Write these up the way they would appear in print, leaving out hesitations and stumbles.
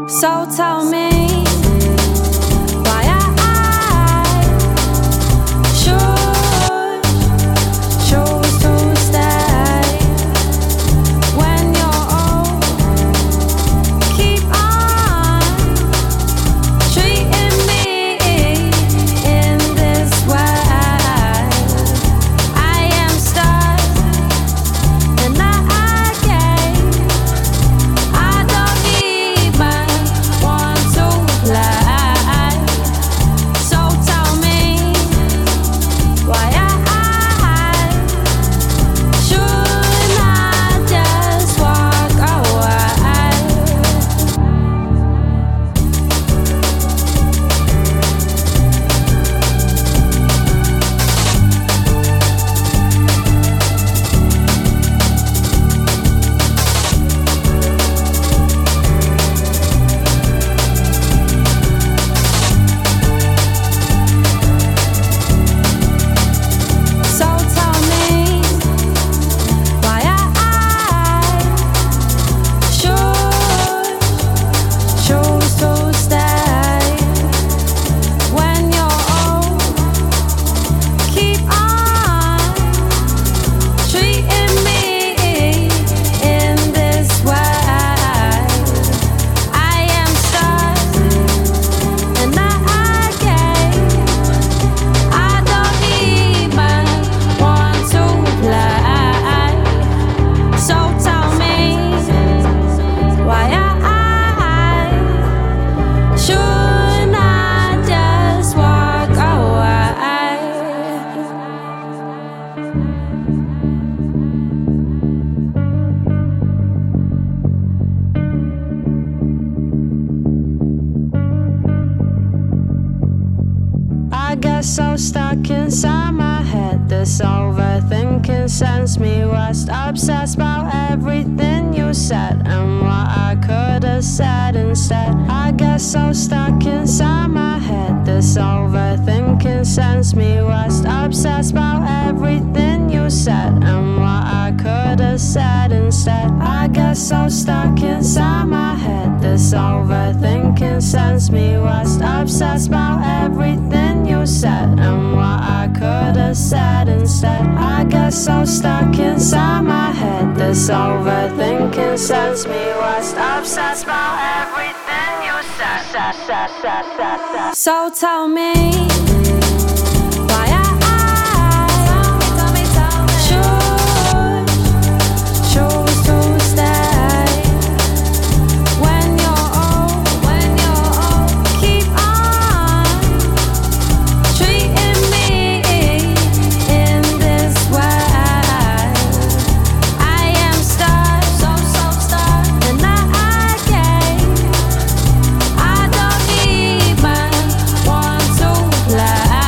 So tell me why I should choose to stay when you're old. Keep on treating me in this way. I am stuck and I gave. I don't even want to play. So tell me why I should not just walk away. So tell me why I should choose to stay when you're old. Keep on treating me in this way. I am stuck and I gave. I don't even want to play. So tell me why I should not just walk away. I get so stuck inside my head. This overthinking sends me west. Obsessed about everything you said and what I could have said instead. I get so stuck inside my head. This overthinking sends me west. Obsessed about everything you said and what I could have said instead. I get so stuck inside my head. This overthinking sends me west. Obsessed about everything you said and what I could have said instead. I get so stuck inside my head. This overthinking sends me west. Obsessed about everything you said. So tell me why I should choose to stay when you're old. Keep on treating me in this way. I am stuck, so stuck, and I gave. I don't even want to play.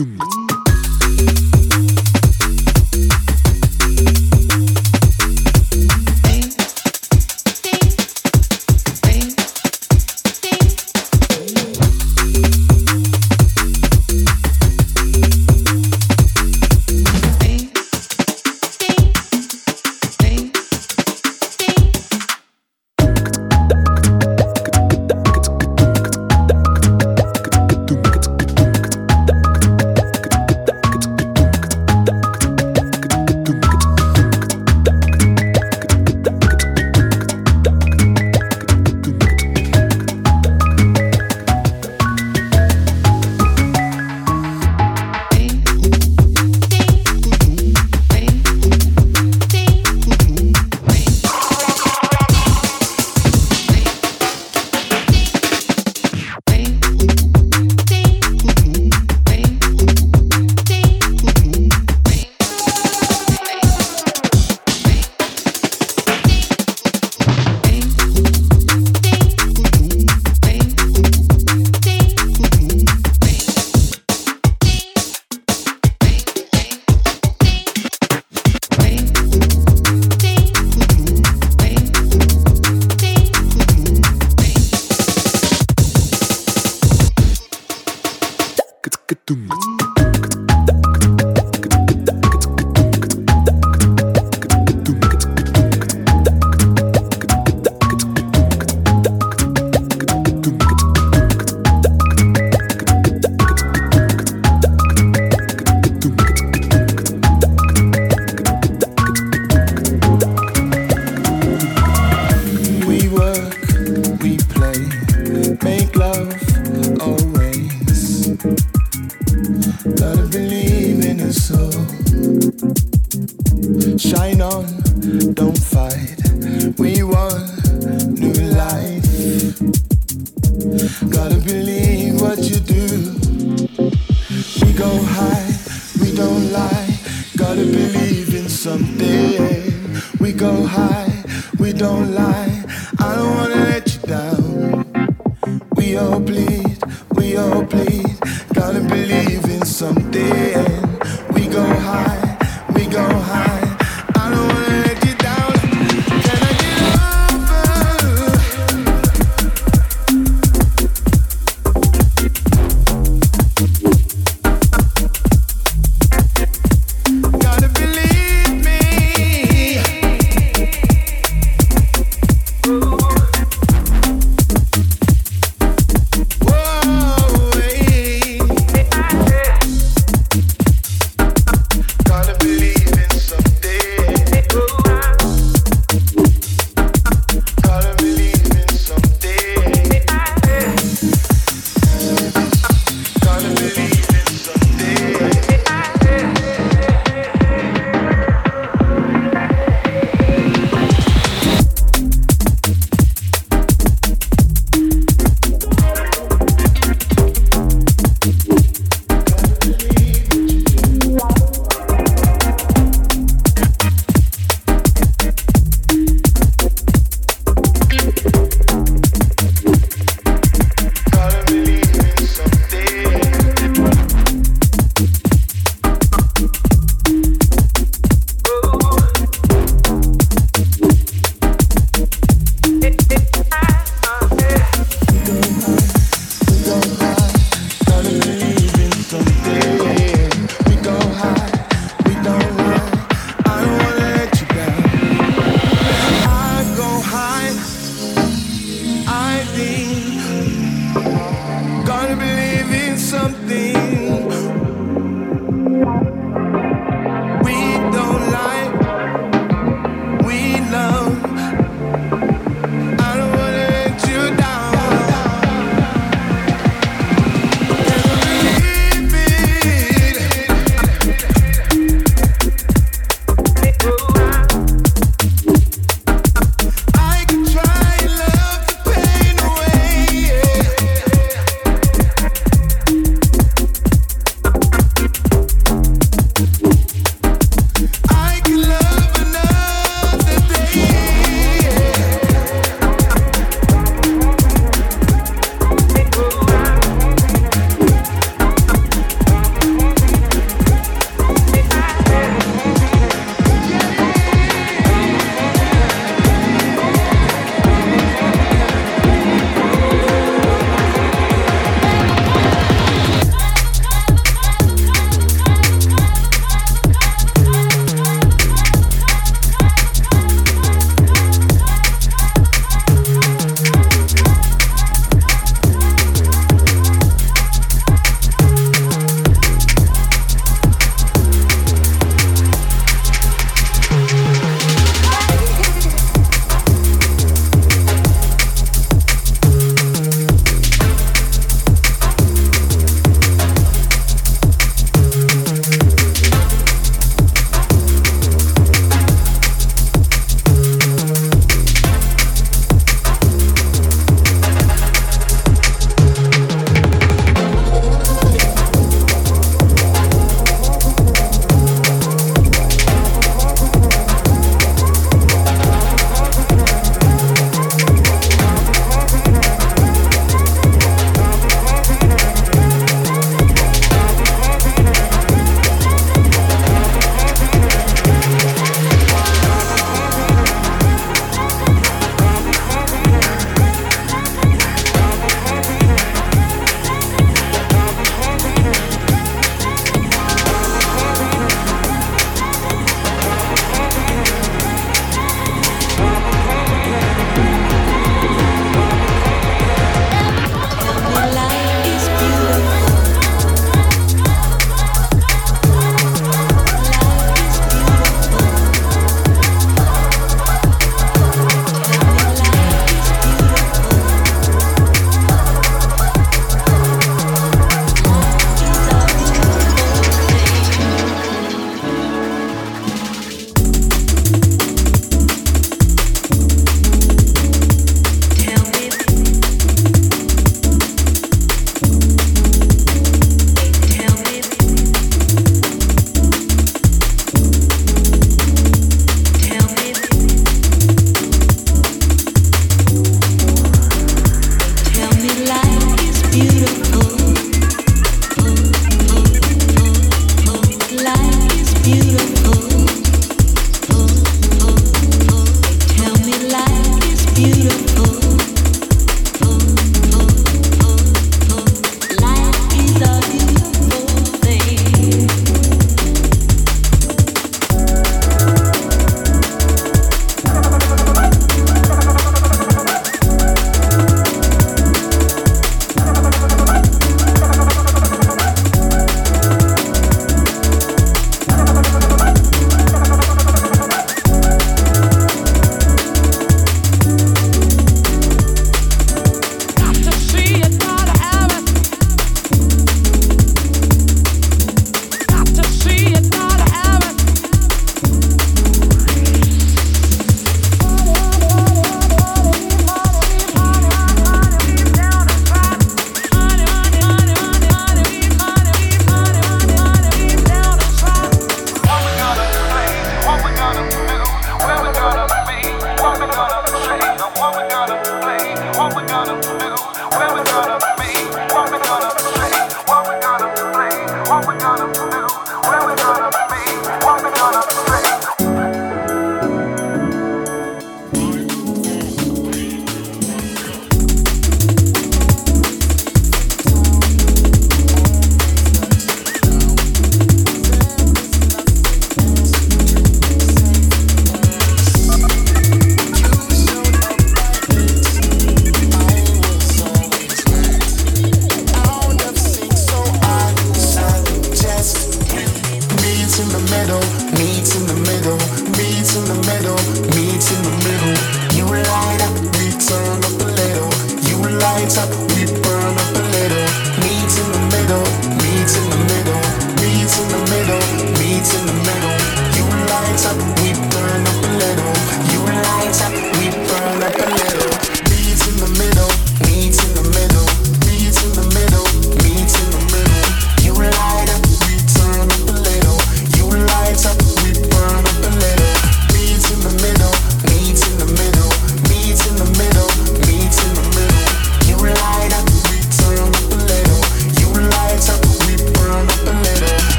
I can try love the pain away.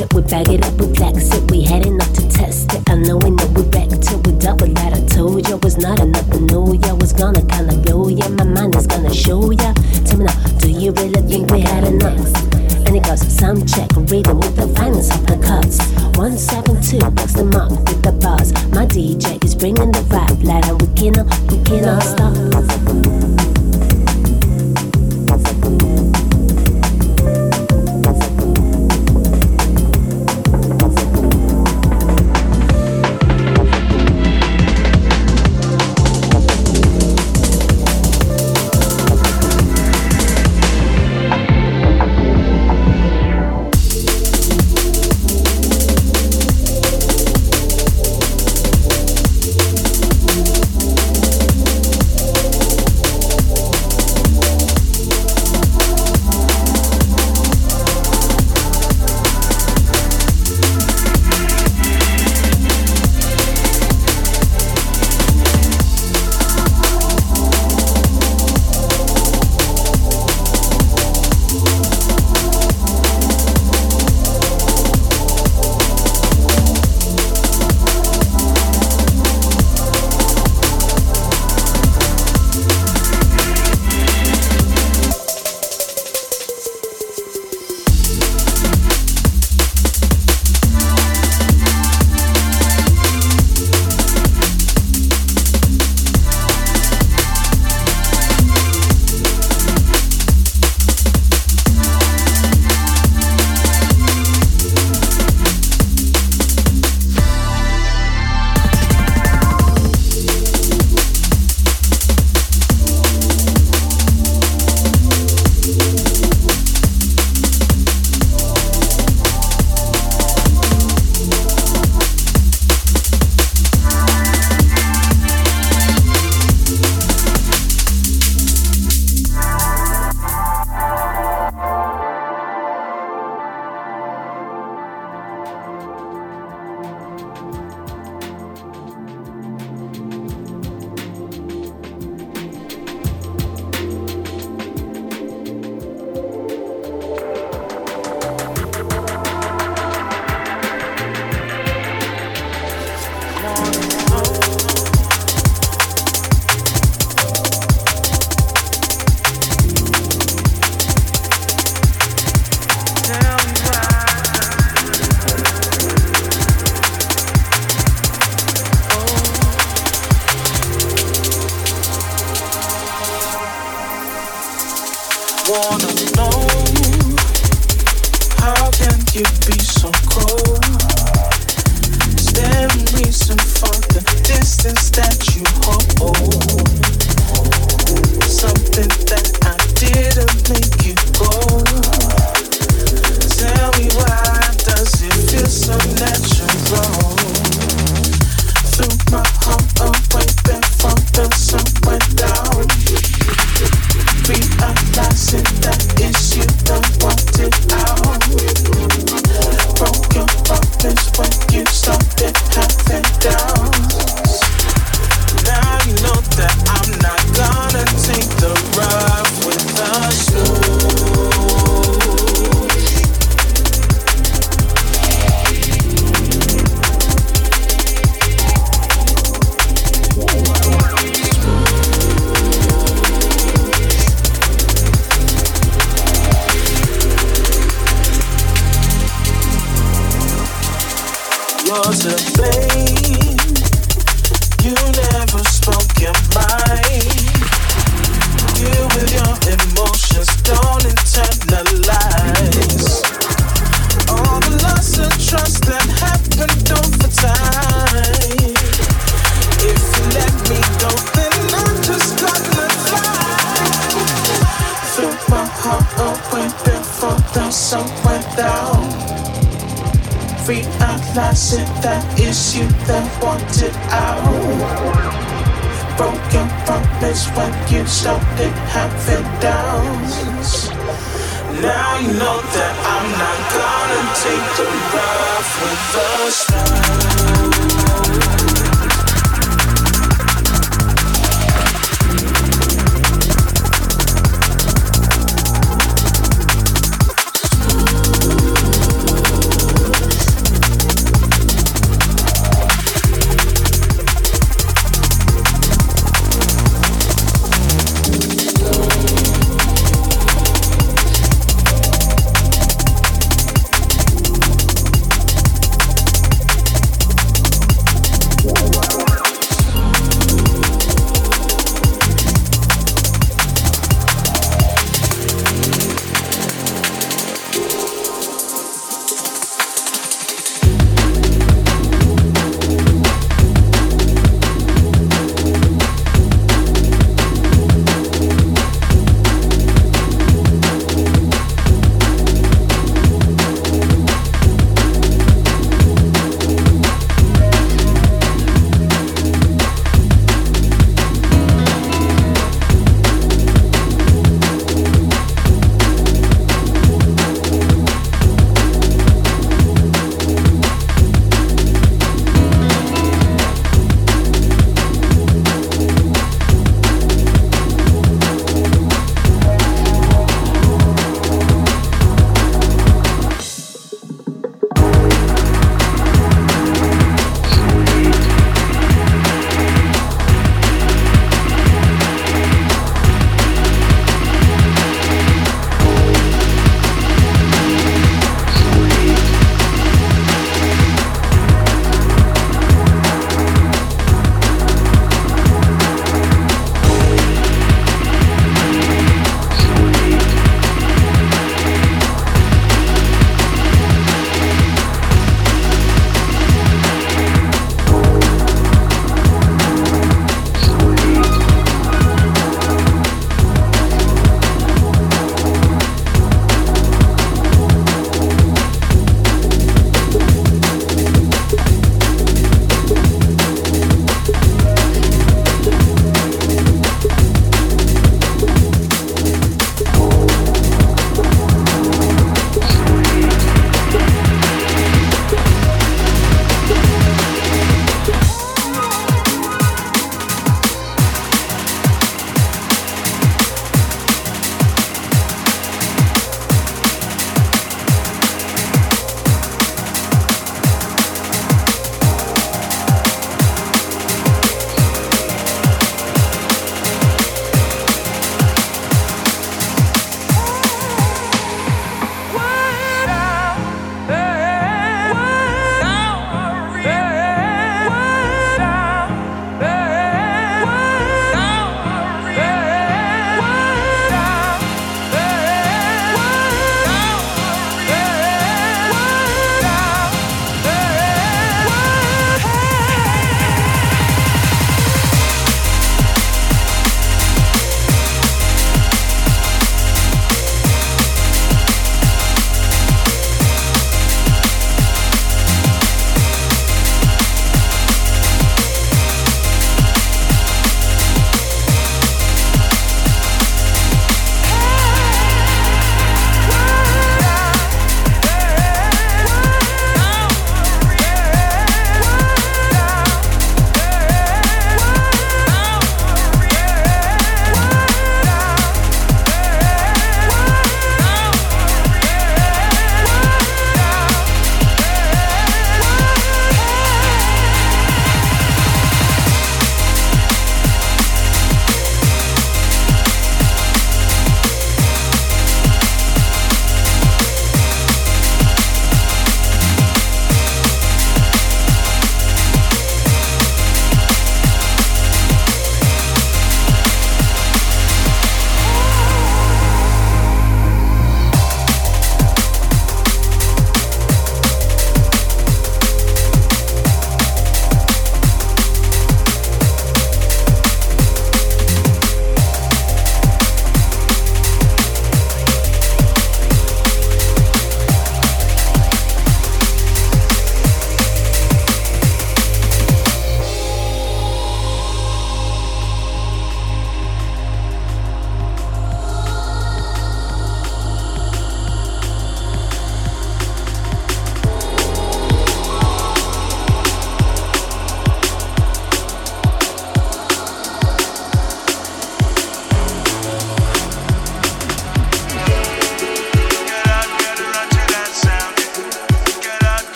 it, we bag it up, we flex it. We heading up to test it. I know we back till we double that. I told ya was not enough to know ya was gonna kinda blow ya. My mind is gonna show ya. Tell me now, do you really think we had enough? And it goes some check, reading with the finest of the cuts. 172 bucks the month with the buzz. My DJ is bringing the vibe, like we cannot stop.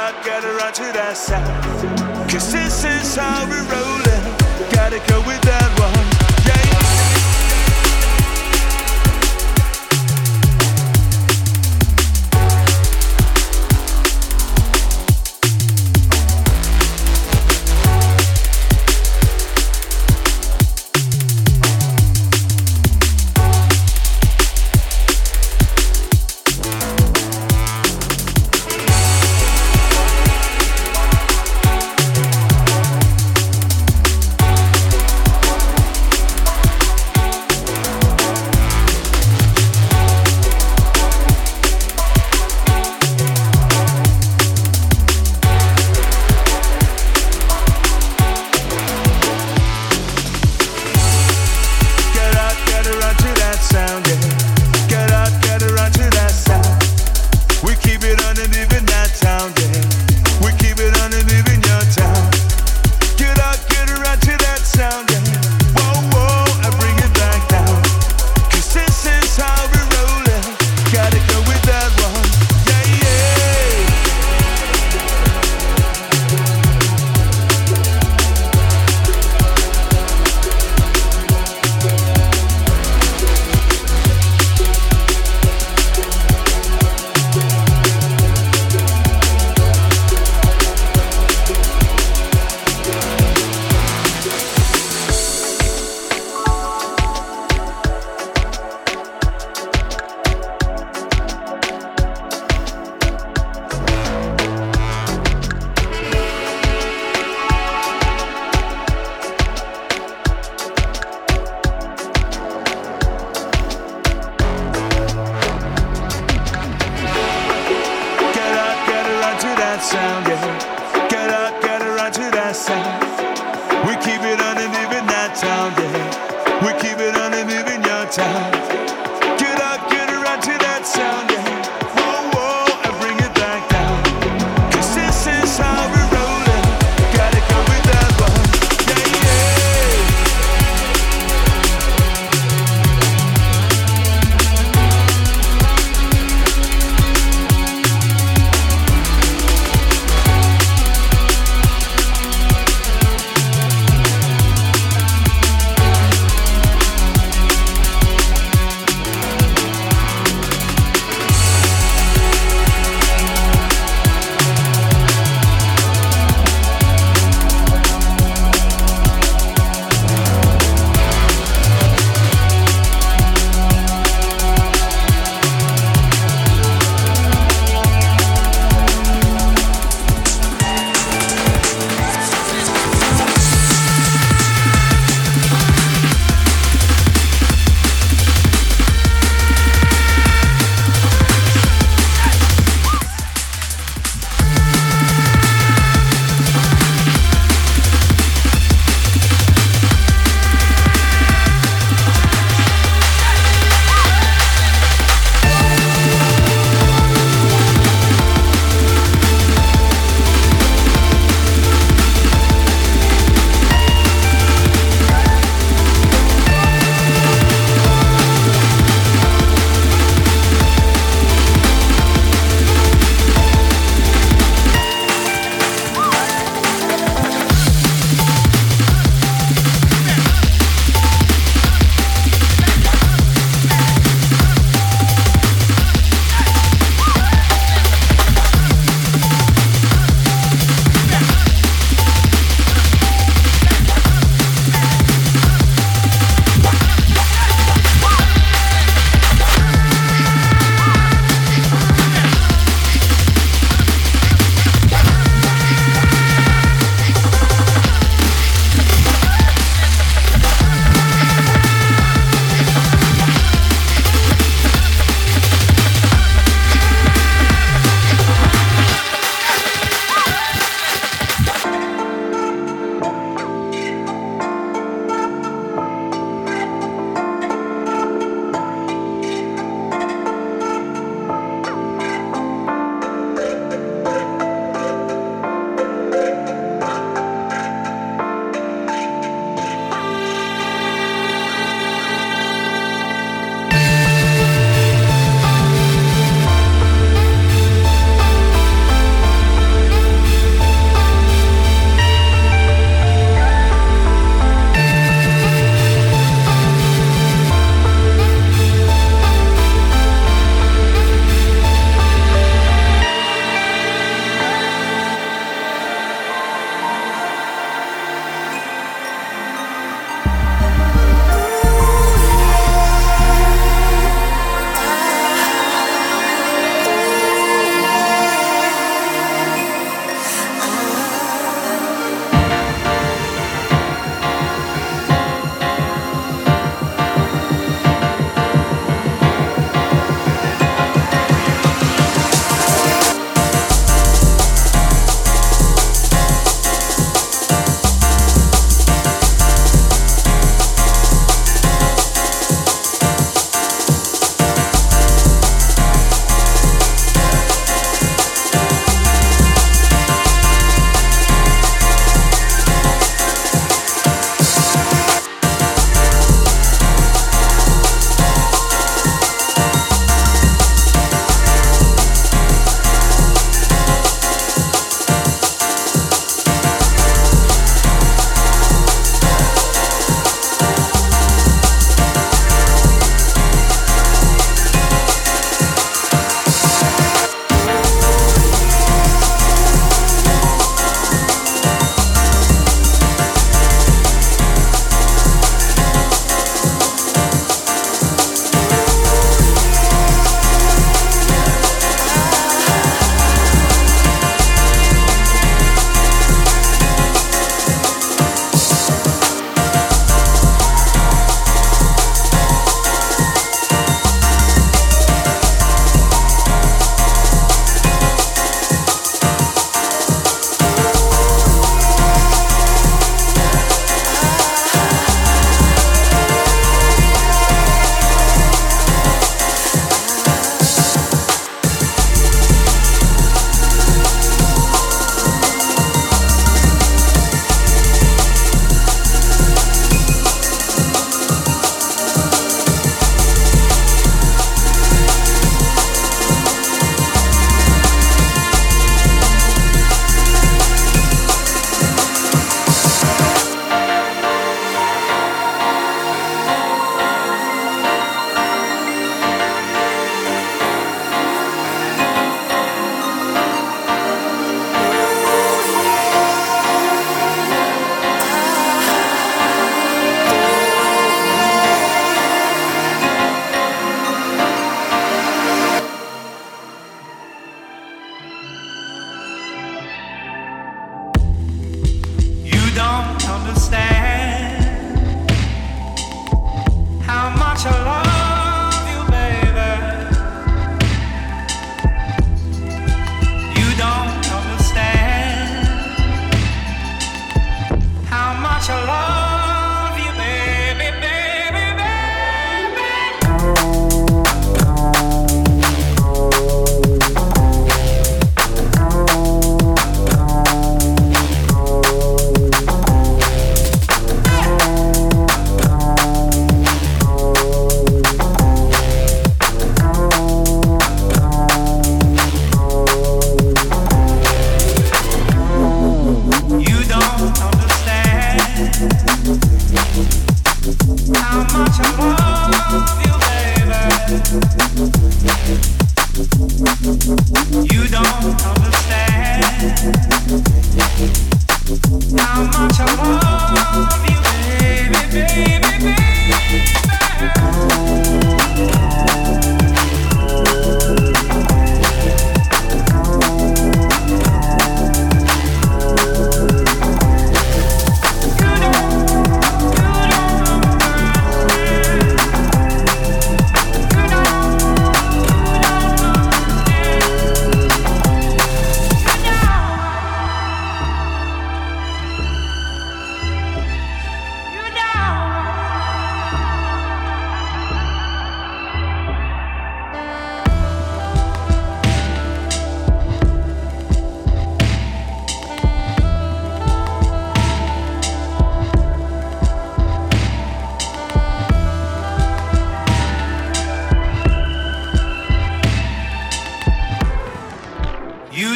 I gotta run to that side. Cause this is how we're rolling. Gotta go with that one. Yeah.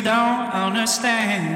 don't understand.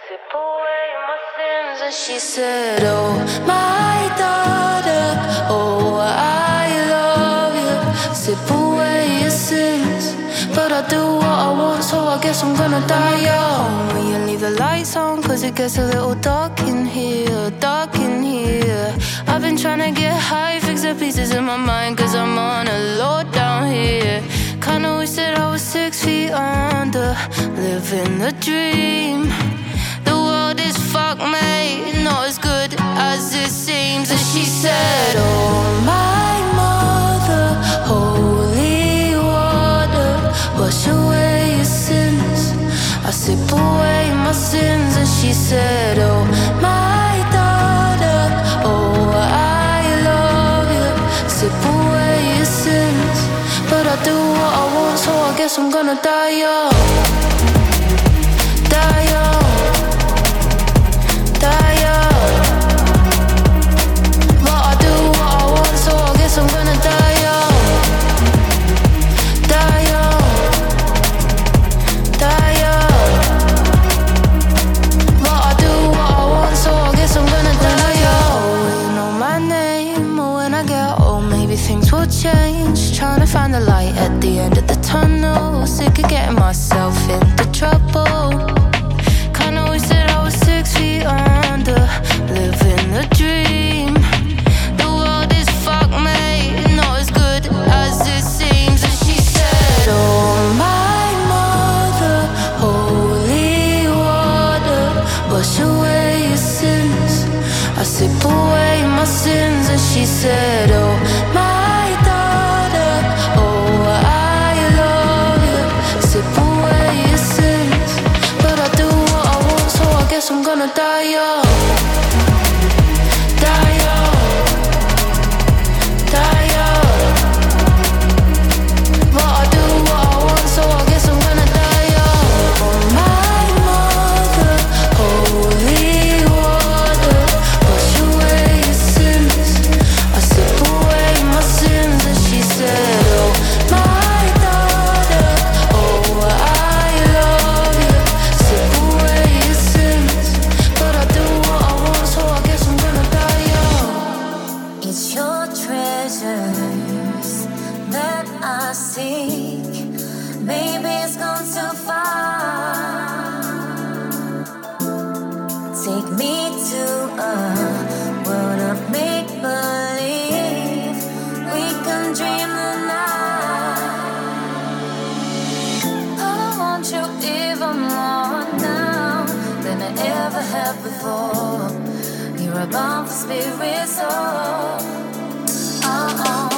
Sip away my sins and she said, oh, my daughter, oh, I love you. Sip away your sins, but I do what I want, so I guess I'm gonna die young. Will you leave the lights on, cause it gets a little dark in here, dark in here. I've been trying to get high, fix the pieces in my mind, cause I'm on a low down here. Kinda wish that I was 6 feet under, living the dream. The world is fucked, mate, not as good as it seems. And she said, oh, my mother, holy water, wash away your sins. I sip away my sins. And she said, oh, my daughter, oh, I love you. Sip away your sins, but I do what I want, so I guess I'm gonna die young. Die young. Die young. But I do what I want, so I guess I'm gonna die young. Die young. Die young. But I do what I want, so I guess I'm gonna die young. You know my name, or when I get old, maybe things will change. Trying to find the light at the end of the tunnel. Sick of getting myself into trouble. Kinda wish that I was 6 feet under, living the dream. The world is fucked, mate, not as good as it seems. And she said, oh, my mother, holy water, wash away your sins. I sip away my sins. And she said, oh, my daughter, oh, I love you. Sip away your sins, but I do what I want, so I guess I'm gonna die young. Die young. Die young. But I do what I want, so I guess I'm gonna die young. Oh, my mother, holy water, wash away your sins. I sip away my sins. And she said, oh, my daughter, oh, I love you. Sip away your sins, but I do what I want, so I guess I'm gonna die young. It's your treasures that I seek. Maybe it's gone too far. Take me to a world of make believe. We can dream the night. I want you even more now than I ever have before. You're a bomb for spirit soul. Oh.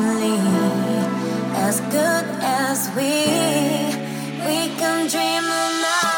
only as good as we can dream enough.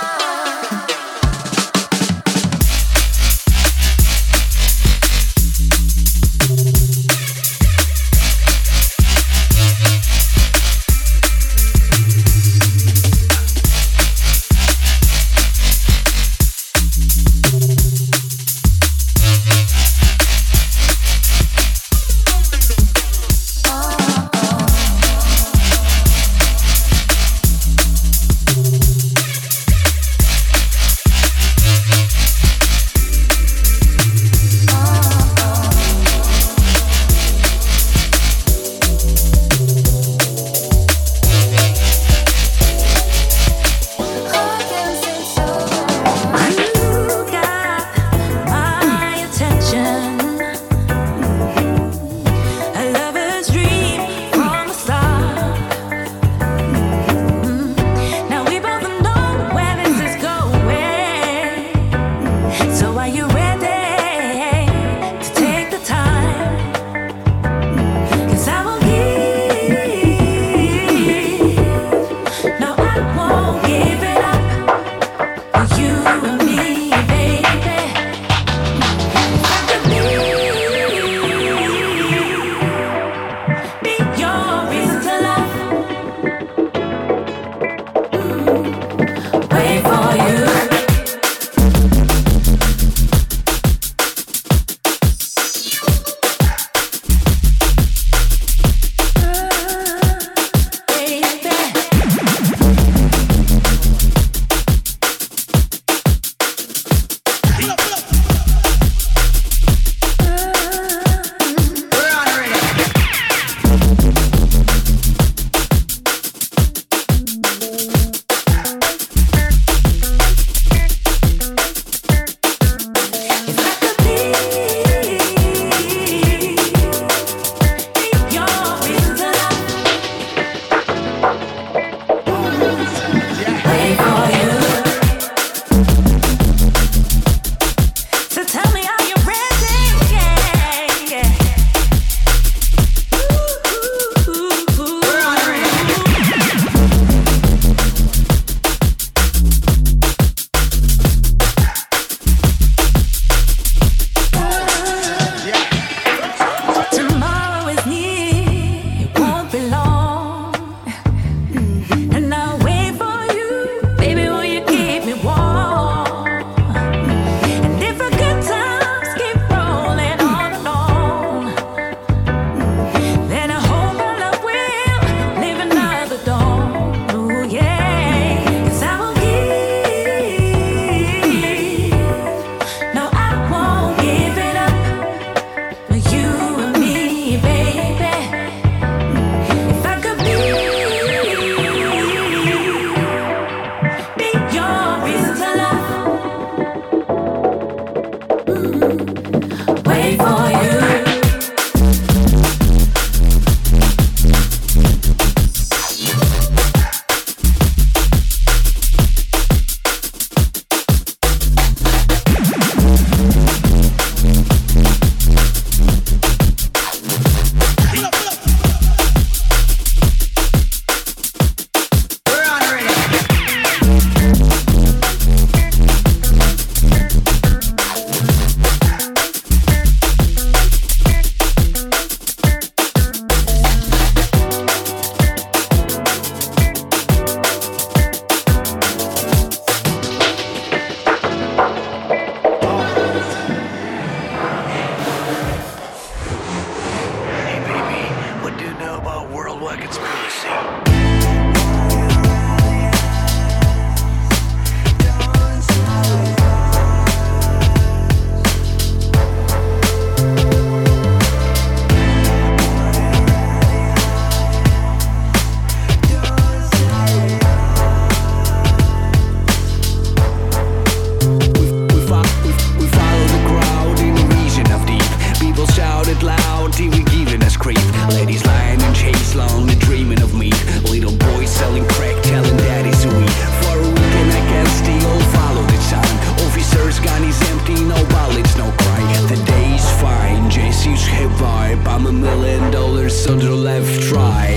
focus on the left, right.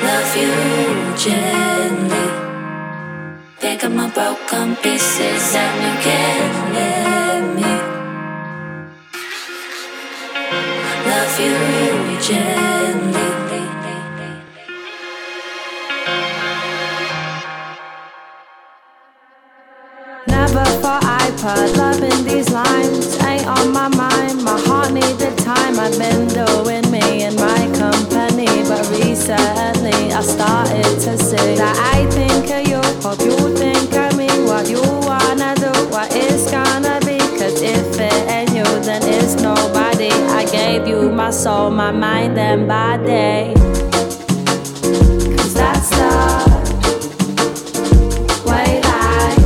love you gently. Pick up my broken pieces and you can't let me. Love you gently. Never thought I put love in these lines. Ain't on my mind, my heart needed time. I've been doing me in my company, but recently I started to see that I think of you, hope you think of me. What you wanna do, what it's gonna be. Cause if it ain't you, then it's nobody. I gave you my soul, my mind and body. Cause that's the way life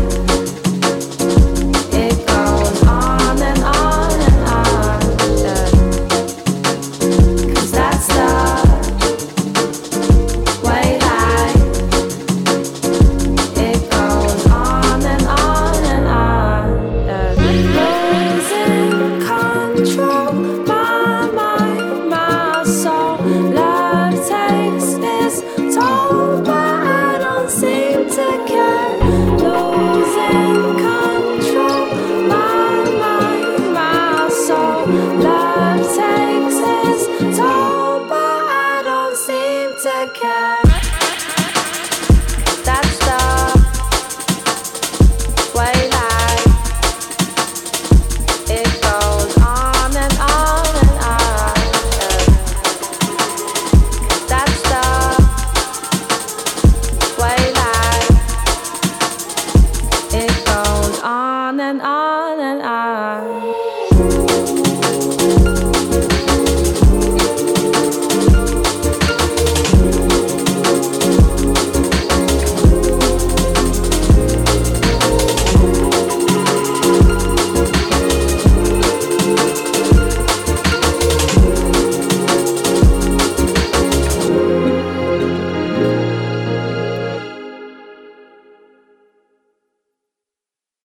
Love takes its toll, but I don't seem to care.